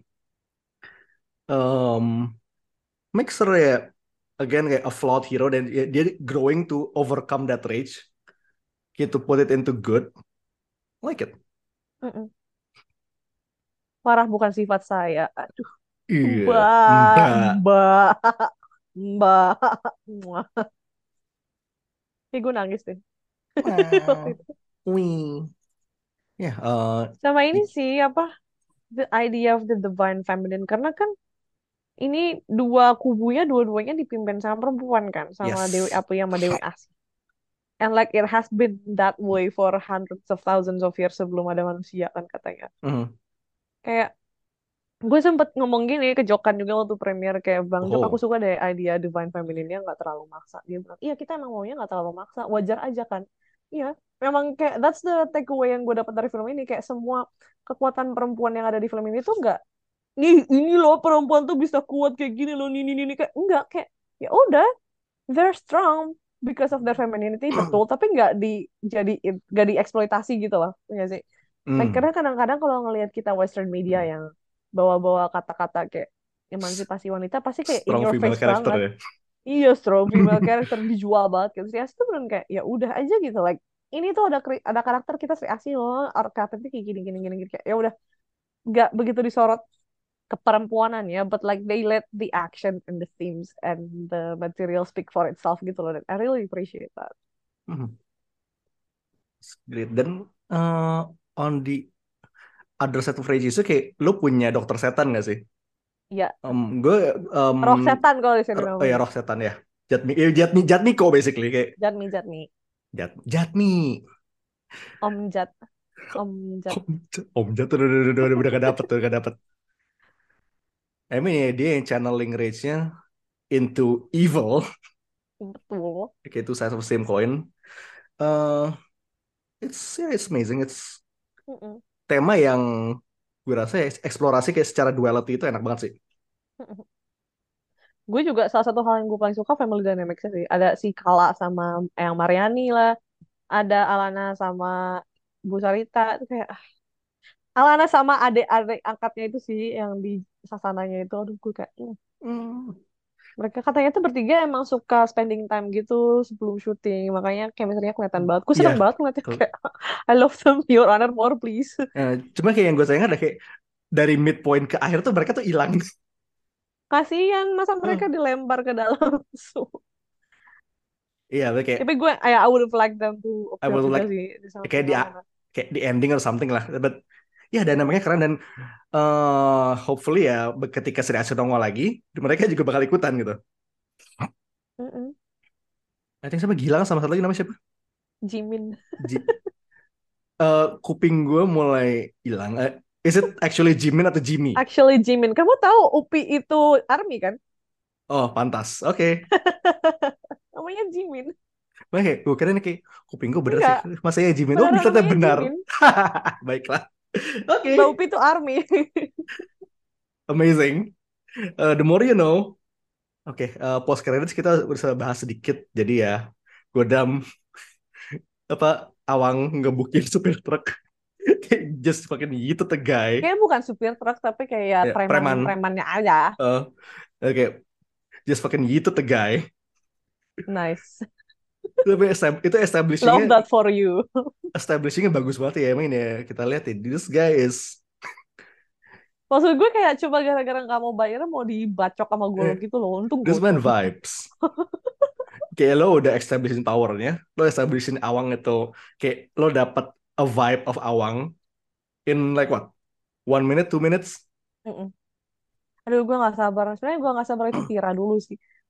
A: um, makes her ya again kayak a flawed hero dan dia, dia growing to overcome that rage, gitu, to put it into good. Like it.
B: Mm-mm. Marah bukan sifat saya. Aduh,
A: Iya,
B: mbak,
A: Mbak.
B: mbak, mbak. Muah. Kayak gue nangis deh. Waktu
A: Wow.
B: itu.
A: Wih. Ya, uh,
B: Sama ini
A: i-
B: sih, apa, the idea of the divine feminine. Karena kan ini dua kubunya, dua-duanya dipimpin sama perempuan kan. Sama Dewi
A: yes.
B: Api sama Dewi Asih. And like it has been that way for hundreds of thousands of years sebelum ada manusia kan katanya.
A: Mhm.
B: Kayak gue sempet ngomong gini ke Jokan juga waktu premiere kayak Bang Jok aku
A: Oh.
B: suka deh idea divine feminine-nya nggak terlalu maksa. Dia bilang iya kita emang maunya nggak terlalu maksa, wajar aja kan. Iya memang kayak that's the takeaway yang gue dapat dari film ini kayak semua kekuatan perempuan yang ada di film ini tuh nggak nih ini loh perempuan tuh bisa kuat kayak gini loh ini ini ini kayak enggak kayak ya udah they're strong because of their femininity betul tapi nggak di jadi nggak dieksploitasi gitu loh ya sih. Like,
A: Hmm.
B: karena kadang-kadang kalau ngelihat kita Western media yang bawa-bawa kata-kata kayak emansipasi wanita pasti kayak in
A: Strong
B: your
A: female
B: face
A: character
B: banget.
A: ya.
B: Iya, strong female character dijual banget gitu. Si Asi tuh bener kayak ya udah aja gitu. Like ini tuh ada kri- ada karakter kita si Asi loh, archetype kayak gini gini gini, gini. Kayak ya udah nggak begitu disorot keperempuanan ya, but like they let the action and the themes and the material speak for itself gitu loh. Dan I really appreciate that.
A: Mhm. Great. Dan uh, on the other side of Rage itu kayak lu punya dokter setan gak sih?
B: Iya,
A: Um, gue um,
B: roh setan kalau di sini
A: r- oh ya
B: namanya.
A: roh setan ya. Jatmi, eh, Jatmi, Jatmiko basically kayak
B: Jatmi Jatmi,
A: Jat, Jatmi.
B: Om Jat, Om Jat.
A: Om, Jat- Om Jat udah udah udah udah, udah gak dapet tuh, gak dapet. I mean ya, dia yang channeling rage-nya into evil,
B: Betul.
A: kayak two sides of the same coin. Uh, it's yeah, it's amazing. It's
B: Mm-mm.
A: tema yang gue rasa ya, eksplorasi kayak secara duality itu enak banget sih.
B: Gue juga salah satu hal yang gue paling suka family dynamics sih. Ada si Kala sama Eyang Mariani lah. Ada Alana sama Bu Sarita. Itu kayak ah, Alana sama adik-adik angkatnya itu sih yang di sasananya itu. Aduh gue kayak "Hmm."
A: Hmm.
B: Mereka katanya tuh bertiga emang suka spending time gitu sebelum syuting. Makanya chemistry-nya kelihatan banget. Gue
A: Iya,
B: seneng banget ngeliatnya
A: Kel-
B: kayak I love them, Your Honor, more please.
A: eh, cuma kayak yang gue sayang ada kayak dari midpoint ke akhir tuh mereka tuh hilang.
B: Kasian masa mereka
A: Hmm.
B: dilempar ke dalam sumur.
A: Iya, tapi kayak
B: Tapi gue, I, I would have liked them to
A: I
B: appear
A: would
B: juga
A: like
B: sih di
A: kayak di
B: samping-sampingan.
A: kayak di ending or something lah. But ya dynamicnya keren dan eh hopefully ya ketika Sri Asih nongol lagi, mereka juga bakal ikutan gitu.
B: Mm-mm.
A: I think siapa Gilang sama satu lagi namanya siapa?
B: Jimin.
A: Ji- eh, kuping gue mulai hilang. Eh, is it actually Jimin atau Jimmy?
B: Actually Jimin. Kamu tahu Upi itu ARMY kan?
A: Oh, pantas. Oke.
B: Namanya Jimin.
A: Oke, kayak gue kira ini kayak kuping gue bener sih.
B: Enggak.
A: Masa ya Jimin? Oh,
B: Beneran
A: ternyata
B: namanya
A: benar.
B: Jimin.
A: Baiklah. Oke.
B: Mbak Upi itu ARMY.
A: Amazing. Eh, the more you know. Oke, eh, post credits kita bisa bahas sedikit. Jadi ya, Godam apa Awang ngebukin supir truk. Kayak just fucking gitu the guy.
B: Kayaknya bukan supir truk, tapi kayak
A: Ya, preman.
B: preman-premannya aja.
A: Eh, Oke, just fucking gitu the guy.
B: Nice.
A: Tapi estab- itu
B: Love
A: establishingnya
B: that for you.
A: establishingnya bagus banget ya emang ini ya. Kita lihat ya, this guy is
B: Maksud gue kayak coba gara-gara nggak mau bayar mau dibacok sama golok gitu loh. Untung
A: this man
B: gocap.
A: vibes. Kayak lo udah establishing powernya, lo establishing Awang itu kayak lo dapat a vibe of Awang in like what? One minute, two minutes?
B: Mm-mm. Aduh gue nggak sabar. Sebenarnya gue nggak sabar itu Tira dulu sih.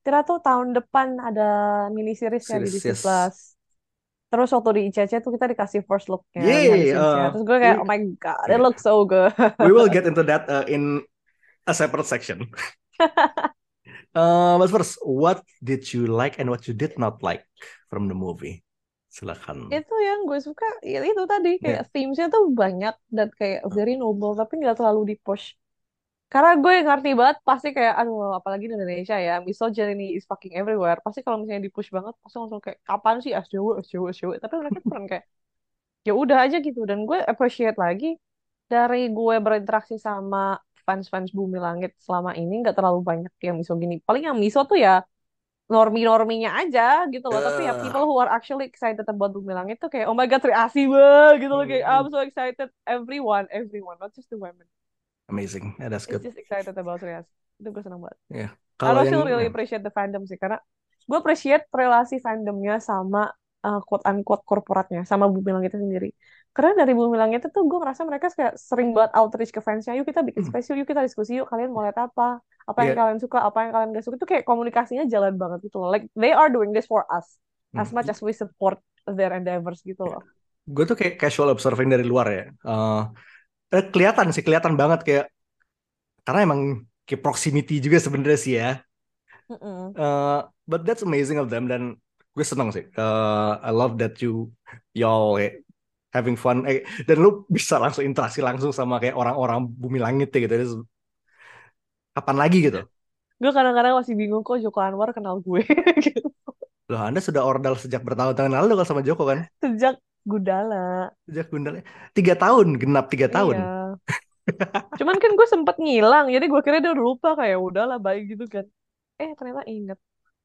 B: Tira tuh tahun depan ada mini seriesnya di
A: Series,
B: Disney
A: yes.
B: Plus. Terus waktu di I C C tuh kita dikasih first look-nya, behind the
A: Yay,
B: scenes-nya.
A: uh,
B: Terus gue kayak,
A: we,
B: oh my god, it
A: yeah,
B: looks so good.
A: we will get into that uh, in a separate section. Uh, but first, what did you like and what you did not like from the movie? Silakan.
B: Itu yang gue suka, ya itu tadi,
A: Yeah.
B: kayak themes-nya tuh banyak dan kayak very noble, tapi nggak terlalu di-push. Karena gue ngerti banget, pasti kayak, aduh, apalagi di Indonesia ya, misogyny is fucking everywhere. Pasti kalau misalnya di-push banget, pasti langsung kayak, kapan sih S J W, S J W, S J W. Tapi mereka tuh kan kayak, ya udah aja gitu. Dan gue appreciate lagi, dari gue berinteraksi sama fans-fans Bumi Langit selama ini, nggak terlalu banyak yang misogyny. Paling yang miso tuh ya, normi-norminya aja gitu loh. Tapi ya
A: Uh,
B: people who are actually excited about Bumi Langit tuh kayak, oh my god, Sri Asih banget gitu loh. Kayak, I'm
A: mm,
B: so excited. Everyone, everyone, not just the women.
A: amazing. Yeah, that's
B: It's
A: good.
B: just excited about Sri Asih. Itu gue seneng banget.
A: Yeah.
B: I
A: Kalau
B: still
A: yang
B: really
A: yeah.
B: appreciate the fandom sih. Karena gue appreciate relasi fandomnya sama uh, quote-unquote korporatnya. Sama Bumi Langit itu sendiri. Karena dari Bumi Langit itu tuh gue ngerasa mereka kayak sering banget outreach ke fansnya. Yuk kita bikin
A: Mm,
B: space yuk, yuk kita diskusi yuk. Kalian mau lihat apa? Apa yang
A: yeah.
B: kalian suka, apa yang kalian gak suka. Itu kayak komunikasinya jalan banget gitu loh. Like they are doing this for us. As much
A: Mm.
B: as we support their endeavors gitu loh.
A: Gue tuh kayak casual observing dari luar ya. Uh, eh, kelihatan sih, kelihatan banget kayak karena emang kayak proximity juga sebenarnya sih ya.
B: Mm-mm.
A: Uh, but that's amazing of them dan gue seneng sih. Uh, I love that you y'all kayak having fun. Eh, dan lu bisa langsung interaksi langsung sama kayak orang-orang Bumi Langit ya gitu. Terus kapan lagi gitu?
B: Gue kadang-kadang masih bingung kok Joko Anwar kenal gue gitu.
A: Loh, Anda sudah ordal sejak bertahun-tahun lalu kalau sama Joko kan?
B: Sejak Gundala.
A: Sejak Gundala. Tiga tahun, genap tiga tahun.
B: Iya. Cuman kan gue sempet ngilang, jadi gue kira dia udah lupa kayak udahlah baik gitu kan. Eh ternyata inget.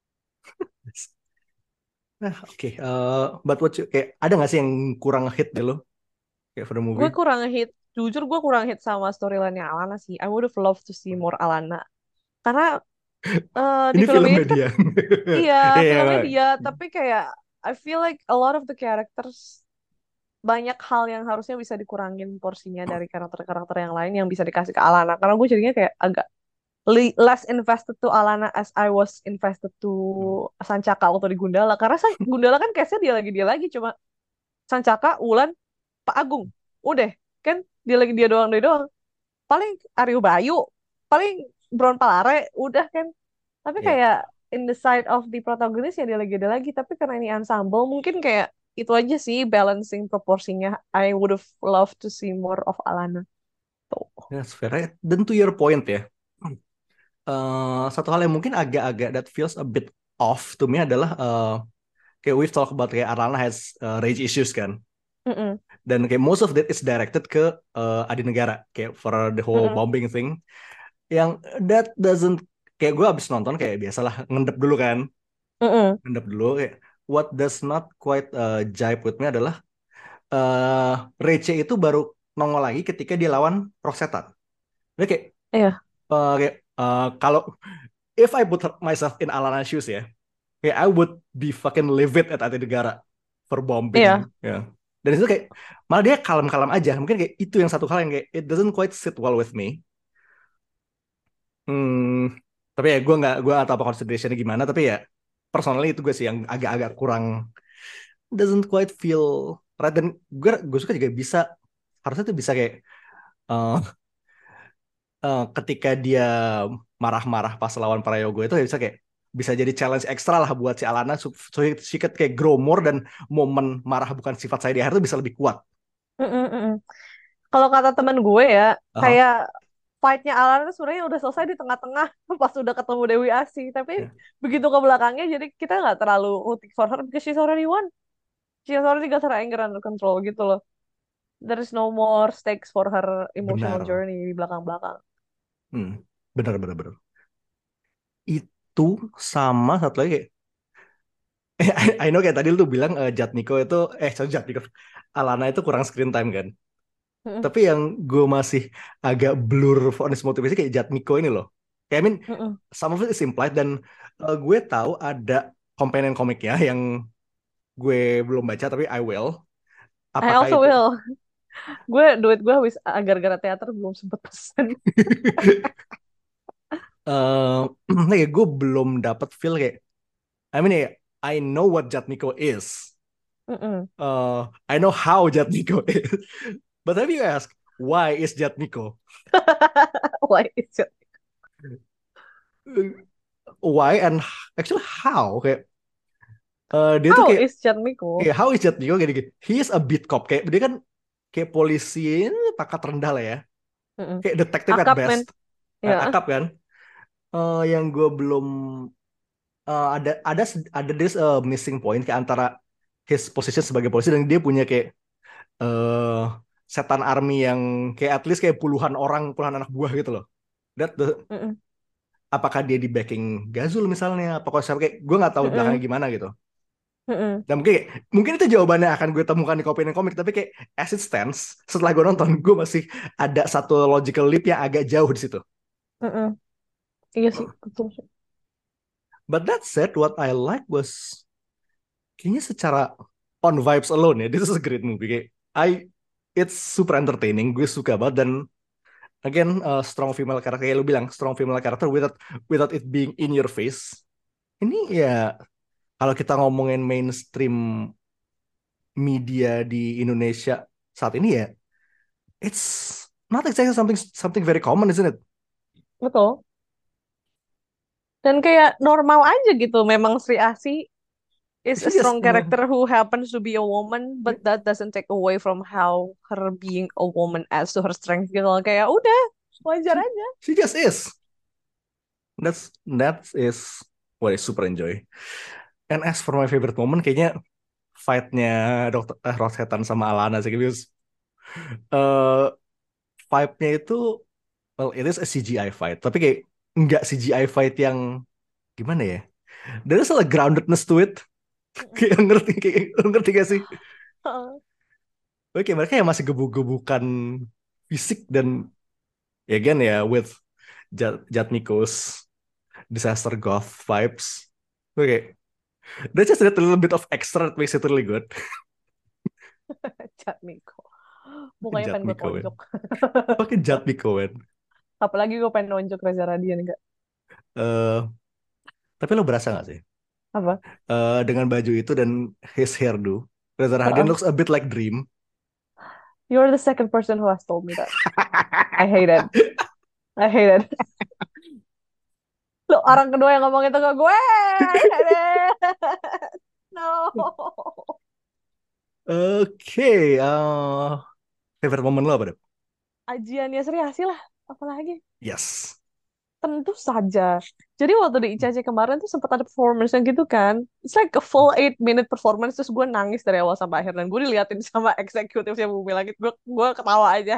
A: Nah, oke. Okay. Uh, but what you, kayak ada nggak sih yang kurang hit di lo? Kayak for the
B: Gue
A: movie?
B: kurang hit, jujur gue kurang hit sama storyline-nya Alana sih. I would have loved to see more Alana. Karena eh, di
A: Ini
B: film ini
A: filmnya
B: tuh kan,
A: dia.
B: iya
A: Iya,
B: filmnya
A: nggak?
B: dia, tapi kayak I feel like a lot of the characters banyak hal yang harusnya bisa dikurangin porsinya dari karakter-karakter yang lain yang bisa dikasih ke Alana. Karena gue jadinya kayak agak li- less invested to Alana as I was invested to Sancaka waktu di Gundala. Karena San- Gundala kan case-nya dia lagi dia lagi cuma Sancaka, Wulan, Pak Agung. Udah, kan dia lagi dia doang dia doang. Paling Aryo Bayu, paling Bron Palare, udah kan. Tapi
A: Iya.
B: kayak in the side of the protagonist ya dia lagi ada lagi. Tapi karena ini ensemble mungkin kayak itu aja sih balancing proporsinya. I would have loved to see more of Alana. Tuh.
A: That's fair. Right? Dan to your point ya. Uh, satu hal yang mungkin agak-agak that feels a bit off to me adalah uh, kayak we've talked about kayak Arlana has uh, rage issues kan.
B: Mm-mm.
A: Dan kayak most of that is directed ke uh, Adi Negara kayak for the whole
B: Mm-mm.
A: bombing thing. Yang that doesn't kayak gue abis nonton kayak biasalah ngendep dulu kan.
B: Mm-mm.
A: Ngendep dulu kayak what does not quite uh, jive with me adalah uh, Rece itu baru nongol lagi ketika dia lawan Rosetta. Dia kayak
B: Iya.
A: uh, kayak uh, kalau if I put myself in Alana's shoes ya, kayak I would be fucking livid at Ati Negara for bombing.
B: Iya.
A: Ya. Dan itu kayak malah dia kalem-kalem aja. Mungkin kayak itu yang satu hal yang kayak it doesn't quite sit well with me. Hmm, tapi ya gue nggak gue nggak tahu apa considerationnya gimana. Tapi ya personally itu gue sih yang agak-agak kurang doesn't quite feel right. Dan gue gue suka juga bisa harusnya tuh bisa kayak uh, uh, ketika dia marah-marah pas lawan Prayogo itu ya bisa kayak bisa jadi challenge ekstra lah buat si Alana so, so she could kayak grow more dan momen marah bukan sifat saya di akhir itu bisa lebih kuat.
B: Mm-mm-mm. Kalau kata temen gue ya,
A: Aha.
B: kayak fight-nya Alan itu sebenarnya udah selesai di tengah-tengah pas udah ketemu Dewi Asih. Tapi
A: Ya.
B: begitu ke belakangnya, jadi kita nggak terlalu rooting for her because she's already won. She has already got her anger under control gitu loh. There is no more stakes for her emotional
A: Benar.
B: journey di belakang-belakang.
A: Hmm. Benar, benar, benar. Itu sama satu lagi kayak I, I know kayak tadi lu tuh bilang uh, Jatmiko itu eh sorry Jatmiko Alana itu kurang screen time kan.
B: Mm-mm.
A: Tapi yang gue masih agak blur for this motivasi kayak Jatmiko ini loh. Kayak I mean
B: Mm-mm.
A: some of it is implied dan uh, gue tahu ada companion komiknya yang gue belum baca tapi I will.
B: I
A: Apakah
B: also
A: itu
B: will. Gue duit gue habis gara-gara teater belum sempet pesen.
A: eh ya gue belum dapat feel kayak I mean ya I know what Jatmiko is.
B: Mm-mm.
A: Uh, I know how Jatmiko is. But have you asked why is Jatmiko?
B: Why is it?
A: Why and actually how kayak eh, dia tuh
B: How
A: kayak
B: is Chatmiko?
A: kayak how is Jatmiko kayak gini. He is a beat cop kayak dia kan kayak polisi ini pangkat rendah lah ya.
B: Mm-mm.
A: Kayak detektif at
B: Akap men,
A: best. Eh,
B: ya.
A: akap kan. Eh, yang gue belum eh, ada ada ada this eh, missing point kayak antara his position sebagai polisi dan dia punya kayak eh setan army yang kayak at least kayak puluhan orang, puluhan anak buah gitu loh. That the,
B: Mm-mm.
A: apakah dia di backing Gazul misalnya? Apakah siapa kayak gue nggak tahu belakangnya
B: Mm-mm.
A: gimana gitu.
B: Mm-mm.
A: Dan mungkin mungkin itu jawabannya akan gue temukan di Kopien Komik, tapi kayak as it stands setelah gue nonton gue masih ada satu logical leap yang agak jauh di situ.
B: Mm-mm. Iya sih, betul sih.
A: But that said, what I like was kayaknya secara on vibes alone ya, this is a great movie. Kayak I it's super entertaining, gue suka banget dan again uh, strong female character kayak lu bilang strong female character without without it being in your face. Ini ya kalau kita ngomongin mainstream media di Indonesia saat ini ya, it's not exactly something something very common, isn't it?
B: Betul. Dan kayak normal aja gitu. Memang Sri Asih is a
A: She just
B: strong
A: uh,
B: character who happens to be a woman, but that doesn't take away from how her being a woman adds to her strength gitu loh. Kayak udah, wajar
A: she,
B: aja.
A: she just is. That's that is what I super enjoy. And as for my favorite moment, kayaknya fight-nya Dokter eh, Rosetan sama Alana sih, because uh, vibe-nya itu well it is a C G I fight, tapi kayak nggak C G I fight yang gimana ya? There's a groundedness to it. Kayak ngerti kayak ngerti gak sih? Oke, mereka yang masih gebuk-gebukan fisik dan ya again ya with Jat Jatmiko's disaster goth vibes. Oke, that's just a little bit of extra that makes it really good.
B: Jatmiko. Mukanya pengen gue
A: Jatmiko man.
B: tonjok.
A: Pakai Jatmiko man.
B: Apalagi gue pengen nonjok Reza Radian enggak.
A: Eh, tapi lo berasa gak sih?
B: Apa?
A: Eh, dengan baju itu dan his hairdo, Reza Rahadian
B: Uh-uh.
A: looks a bit like Dream.
B: You're the second person who has told me that. I hate it. I hate it. Lo orang kedua yang ngomong itu ke gue. I hate it. No.
A: Oke, eh, favorite moment lo apa deh?
B: Ajiannya Sri Asih lah. Apalagi?
A: Yes.
B: Tentu saja. Jadi waktu di I C C kemarin tuh sempat ada performance yang gitu kan. It's like a full eight minute performance. Terus gue nangis dari awal sampai akhir. Dan gue diliatin sama eksekutifnya Bumi Langit. Gue gue ketawa aja.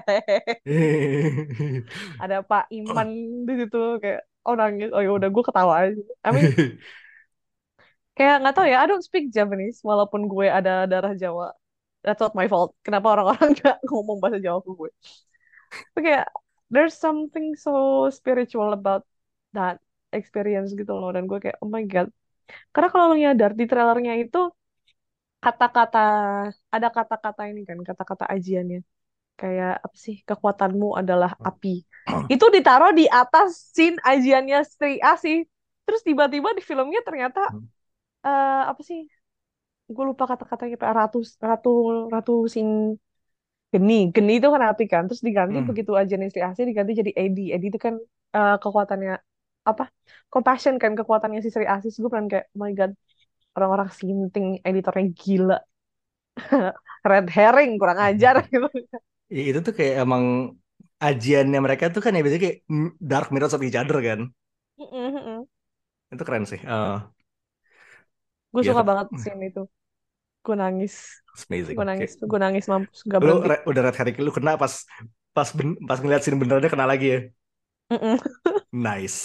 B: Ada Pak Iman di situ. Kayak, oh nangis. Oh ya udah gue ketawa aja. I mean, kayak nggak tahu ya. I don't speak Japanese. Walaupun gue ada darah Jawa. That's not my fault. Kenapa orang-orang nggak ngomong bahasa Jawa ke gue. Tapi kayak, there's something so spiritual about that experience gitu loh. Dan gue kayak, oh my God. Karena kalau lo nyadar di trailernya itu kata-kata, ada kata-kata ini kan, kata-kata ajiannya. Kayak apa sih, kekuatanmu adalah api. Itu ditaruh di atas scene ajiannya Sri Asih. Terus tiba-tiba di filmnya ternyata, eh, apa sih, gue lupa kata-katanya, kayak ratu, ratu, ratu sing Geni, Geni itu kan api kan, terus diganti
A: Hmm.
B: begitu aja nih Sri Asih diganti jadi Edi, Edi itu kan eh, kekuatannya apa? Compassion kan kekuatannya si Sri Asih. Gue kan kayak, oh my God, orang-orang sinting editornya gila, red herring kurang ajar gitu.
A: Ya, itu tuh kayak emang ajiannya mereka tuh kan ya biasanya kayak mm, dark mirrors of each other kan. Itu keren sih. Eh,
B: Gue
A: ya
B: suka
A: tapi
B: banget scene itu, gue nangis,
A: it's amazing.
B: gue
A: Kayak
B: nangis, gue nangis mampus, gak
A: lu
B: berhenti.
A: re- udah red herring lu kena pas pas ben, pas ngeliat scene benerannya kena lagi ya.
B: Mm-mm.
A: Nice.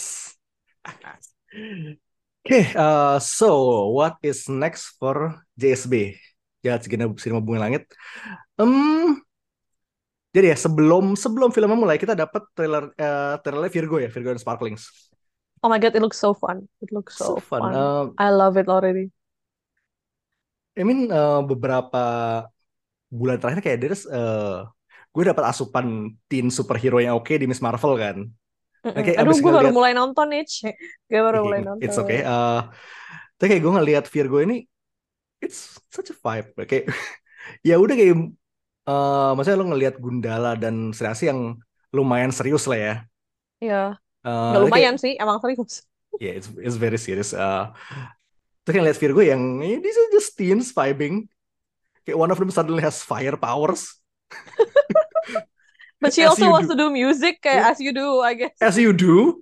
A: Oke, uh, so what is next for J S B? Ya, Segena Sinema Bumi Langit. Em, jadi ya sebelum sebelum filmnya mulai kita dapat trailer eh trailer Virgo ya, Virgo and Sparklings.
B: Oh my God, it looks so fun, it looks
A: So
B: so
A: fun.
B: fun.
A: Um,
B: I love it already.
A: I mean eh, beberapa bulan terakhir kayak there's eh gue dapat asupan teen superhero yang oke di Miss Marvel kan.
B: Mm-mm.
A: Oke,
B: Aduh,
A: abis
B: gue baru
A: ngeliat,
B: mulai nonton nih. Gue baru mulai
A: it's okay.
B: nonton.
A: Uh, tapi kayak gue ngeliat Virgo ini, it's such a vibe. Oke, ya udah kayak, uh, maksudnya lo ngeliat Gundala dan Sri yang lumayan serius lah ya.
B: Iya, nggak
A: Uh,
B: lumayan
A: kayak,
B: sih, emang serius.
A: yeah, it's it's very serious. Uh, terus kayak ngeliat Virgo yang, eh, this is just teens vibing. Kayak one of them suddenly has fire powers,
B: But she
A: as
B: also
A: you
B: wants
A: do,
B: to do music kayak
A: yeah,
B: as you do, I guess.
A: as you do.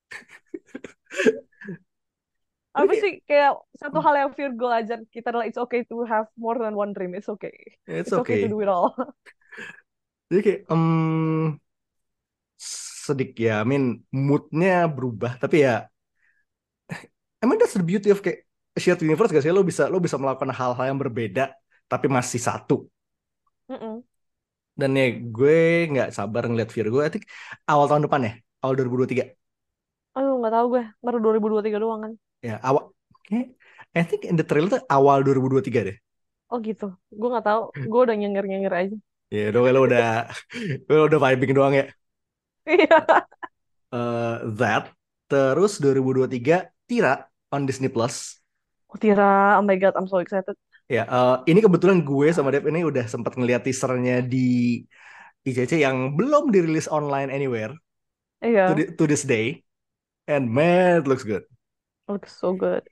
A: Tapi
B: Apa
A: kayak,
B: sih kayak satu hal yang Virgo ajar kita adalah it's okay to have more than one dream. It's okay.
A: it's
B: It's okay to
A: okay.
B: do it all.
A: Jadi kayak, um, sedikit ya, I mean moodnya berubah, tapi ya emang that's the beauty of kayak shared universe gak sih? Lo bisa lo bisa melakukan hal-hal yang berbeda tapi masih satu.
B: Mm-mm.
A: Dan ya gue nggak sabar ngeliat Virgo. I think awal tahun depan ya, awal dua ribu dua puluh tiga.
B: Aduh, nggak tahu gue. Baru dua ribu dua puluh tiga doang kan.
A: Ya awal, kayak, I think in the trailer tuh awal dua ribu dua puluh tiga deh.
B: Oh gitu. Gue nggak tahu. Gue udah nyenger-nyenger aja.
A: Ya udah lo udah lo udah vibing doang ya.
B: Iya.
A: Eh, that terus dua ribu dua puluh tiga Tira on Disney Plus.
B: Oh, Tira, oh my God, I'm so excited.
A: Ya, eh, ini kebetulan gue sama Dev ini udah sempat ngeliat teasernya di I C C yang belum dirilis online anywhere to,
B: Iya,
A: thi- to this day, and man, it looks good.
B: looks so good.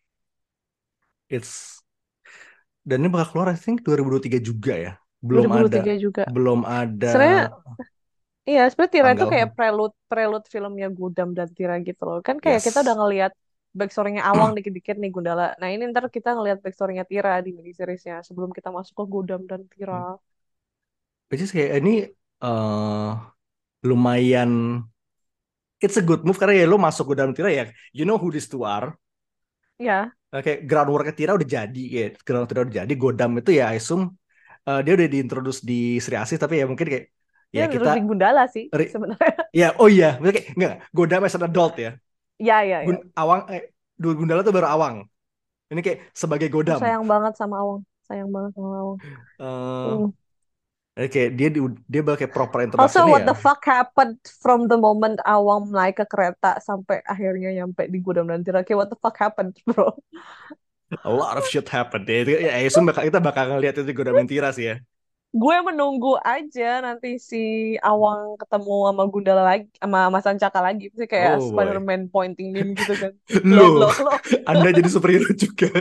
A: It's dan ini bakal keluar I think dua ribu dua puluh tiga juga ya. Belum ada
B: dua ribu dua puluh tiga juga.
A: belum ada
B: Sebenarnya, iya, sebenarnya Tira itu
A: tanggal.
B: kayak prelude, prelude filmnya Gundam dan Tira gitu loh. Kan kayak kita udah
A: Yes.
B: ngelihat backstory-nya Awang dikit-dikit nih Gundala. Nah ini ntar kita ngelihat backstory-nya Tira di miniseries-nya sebelum kita masuk ke Gundam dan Tira.
A: Which is kayak ini eh lumayan, it's a good move karena ya lo masuk ke dalam Tira ya, you know who these two are.
B: Ya,
A: Oke, groundwork Tira udah jadi, ya. Groundwork Tira udah jadi. Godam itu ya, I assume eh, dia udah diintroduce di Sri Asih, tapi ya mungkin kayak ya
B: dia
A: kita
B: terus di Gundala sih
A: re-
B: sebenarnya.
A: ya oh iya, maksudnya kayak enggak, Godam as an adult ya.
B: Ya, ya, ya.
A: Gun, Awang eh dua Gundala tuh baru Awang. Ini kayak sebagai
B: Aku
A: Godam.
B: sayang banget sama Awang. Sayang banget sama Awang.
A: Eh
B: Hmm.
A: kayak dia di- dia bakal kayak proper
B: Also,
A: introduction
B: what
A: ya.
B: the fuck happened from the moment Awang naik ke kereta sampai akhirnya nyampe di Gudang dan Tira? Kayak what the fuck happened, bro?
A: A lot of shit happened ya. Itu ya, I assume bakal, kita bakal ngeliat itu Godam dan Tira sih ya.
B: Gue menunggu aja nanti si Awang ketemu sama Gundala lagi, sama Mas Sancaka lagi. Sih kayak
A: Oh boy.
B: Spider-Man pointing meme gitu kan.
A: Lo,
B: Lo, lo, lo.
A: Anda jadi superhero juga.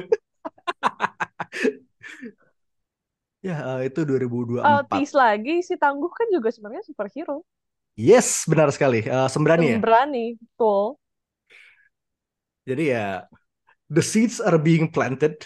A: Ya, eh, itu dua ribu dua puluh
B: Uh,
A: empat.
B: tease lagi, si Tangguh kan juga sebenarnya superhero.
A: Yes, benar sekali. Eh, Sembrani ya.
B: Sembrani, betul.
A: Jadi ya, the seeds are being planted.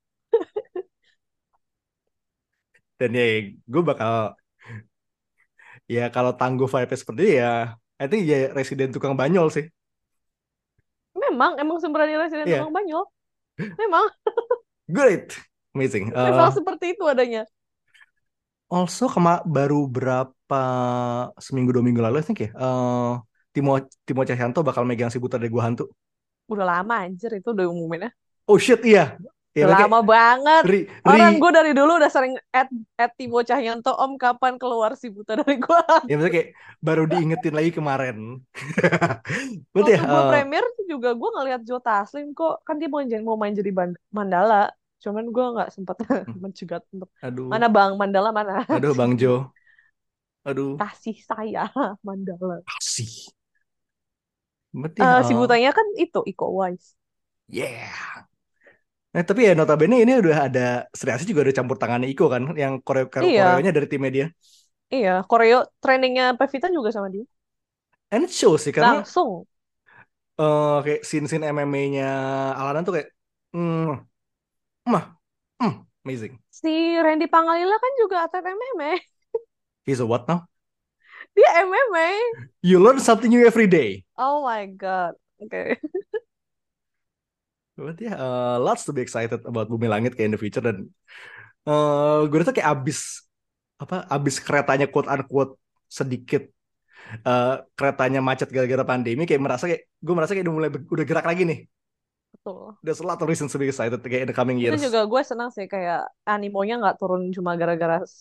A: Dan ya, gue bakal, ya kalau tangguh vibe seperti ini ya, I think ya residen tukang banyol sih.
B: Memang, emang Sembrani Residen
A: Iya,
B: Tukang Banyol. Memang,
A: great, amazing.
B: memang
A: Eh,
B: seperti itu adanya.
A: also kema baru berapa seminggu dua minggu lalu, I think ya, eh Timo Timo Cahyanto bakal megang si Buta dari Gua Hantu.
B: Udah lama anjir itu udah umumin ya.
A: Oh shit, iya. Ya
B: Udah
A: kayak
B: lama banget.
A: ri,
B: Orang
A: ri,
B: gue dari dulu udah sering at, at Timo Cahyanto, Om kapan keluar si Buta dari gua.
A: ya maksudnya kayak baru diingetin lagi kemarin. Berarti ya,
B: Waktu gue
A: eh,
B: premier juga gue ngeliat Joe Taslim kok. Kan dia mau, jadi- mau main jadi Ban- Mandala. Cuman gue nggak sempat mencegat untuk
A: aduh,
B: mana Bang Mandala mana.
A: aduh Bang Jo, aduh,
B: Kasih saya Mandala.
A: kasih. Berarti,
B: Eh si
A: eh,
B: Butanya kan itu Iko Uwais.
A: yeah. Nah, tapi ya notabene ini udah ada Sri Asih juga udah campur tangannya Iko kan, yang koreo
B: Iya,
A: koreonya dari timnya dia.
B: iya. Koreo trainingnya Pevita juga sama dia.
A: And it shows sih karena
B: Langsung.
A: eh, kayak scene-scene M M A-nya Alana tuh kayak, hmm, mah, hmm, amazing.
B: Si Randy Pangalila kan juga atlet M M A.
A: He's a what now?
B: Dia M M A.
A: You learn something new every day.
B: Oh my God. Oke.
A: Berarti ya, eh, lots to be excited about Bumi Langit kayak in the future. Dan eh gue rasa kayak abis apa abis keretanya quote unquote sedikit, eh, keretanya macet gara-gara pandemi, kayak merasa kayak gue merasa kayak udah mulai be- udah gerak lagi nih.
B: Betul.
A: There's a lot of reasons to be excited kayak in the coming
B: Itu
A: years.
B: juga gue senang sih kayak animonya nggak turun cuma gara-gara s-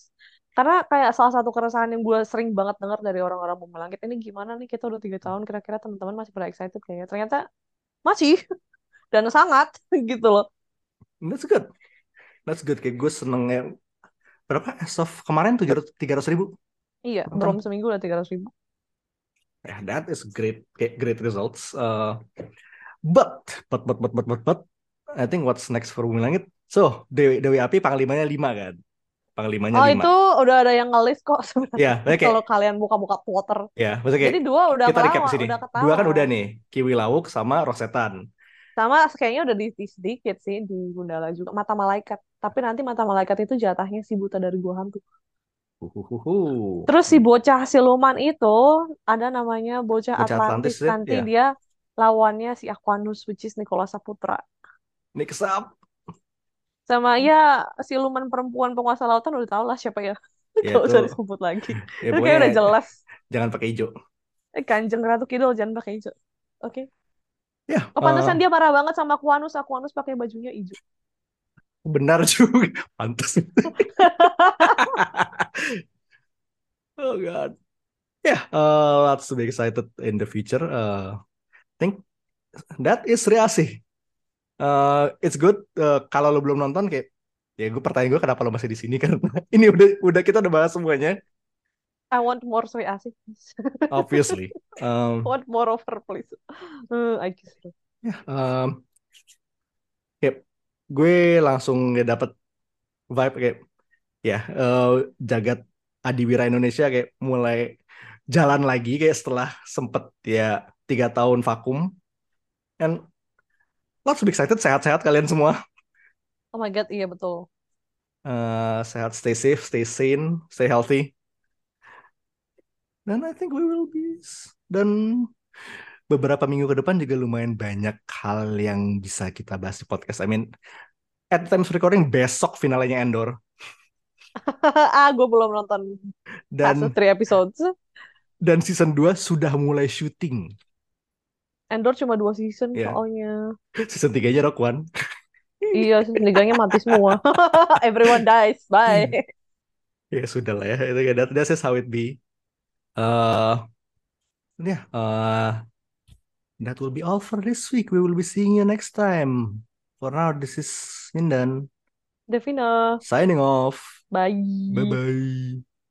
B: Karena kayak salah satu keresahan yang gue sering banget dengar dari orang-orang Bumi Langit ini gimana nih kita udah tiga tahun kira-kira teman-teman masih pada excited kayaknya. Ternyata masih dan sangat gitu loh.
A: That's good. That's good. Kayak gue seneng ya. Berapa? As of kemarin tujuh ratus tiga ratus ribu
B: Iya, belum
A: penonton.
B: seminggu udah tiga ratus ribu.
A: Yeah, that is great. Kayak great results. Uh, but, but, but, but, but, but, but, I think what's next for Bumi Langit? So, Dewi, Dewi Api panglimanya lima kan? Panglimanya
B: Oh
A: lima.
B: itu udah ada yang nge-list kok
A: Ya,
B: sebenarnya.
A: maksudnya kayak,
B: Kalau kalian buka-buka Twitter.
A: ya, maksudnya kayak
B: Jadi dua udah
A: kita recap di
B: ketawa,
A: sini.
B: udah
A: Dua kan udah
B: ketahuan.
A: nih, Kiwi Lawuk sama Rosetan.
B: Sama kayaknya udah di, di sedikit sih di Gundala juga. Mata Malaikat. Tapi nanti Mata Malaikat itu jatahnya si Buta dari Gua Hantu.
A: Uhuhuhu.
B: Terus si bocah siluman itu ada namanya bocah
A: Bocah
B: Atlantis.
A: Atlantis ya,
B: Nanti
A: ya.
B: dia lawannya si Aquanus, which is Nicholas Saputra.
A: Next up.
B: Sama ya siluman perempuan penguasa lautan udah tau lah siapa ya.
A: Ya
B: Gak
A: itu,
B: usah disebut lagi.
A: ya
B: Itu kayak
A: pokoknya
B: udah jelas.
A: jangan pakai hijau.
B: Eh, Kanjeng Ratu Kidul jangan pakai hijau. Oke.
A: Ya,
B: Oh, pantesan
A: uh,
B: dia marah banget sama Aquanus. Aquanus pakai bajunya hijau.
A: benar juga. Pantas. Oh God. Yeah, uh, lots to be excited in the future. Uh, I think that is Reasih. Uh, it's good. Uh, kalau lo belum nonton kayak, ya gue pertanyaan gue kenapa lo masih di sini karena ini udah udah kita udah bahas semuanya.
B: I want more Sri Asih.
A: Obviously.
B: I
A: Um,
B: want more of her, please. Uh, I kiss her.
A: ya, um, kayak gue langsung ya dapet vibe kayak ya uh, jagat Adiwira Indonesia kayak mulai jalan lagi kayak setelah sempet ya tiga tahun vakum. And lots to be excited. Sehat-sehat kalian semua.
B: Oh my God, iya betul.
A: Uh, sehat, stay safe, stay sane, stay healthy. Dan I think we will be. Dan beberapa minggu ke depan juga lumayan banyak hal yang bisa kita bahas di podcast. I mean, at time of recording besok finalnya Endor.
B: Ah, gue belum nonton fase
A: Dan
B: tiga episodes.
A: dan season dua sudah mulai syuting.
B: Endor cuma dua season
A: Ya,
B: soalnya.
A: season tiga-nya Rock One.
B: Iya, season tiganya mati semua. Everyone dies. Bye.
A: Ya sudah lah ya. Itu that, that's just how it be. Uh, yeah, uh, that will be all for this week. We will be seeing you next time. For now, this is Mindan
B: Devina.
A: signing off.
B: Bye.
A: Bye bye.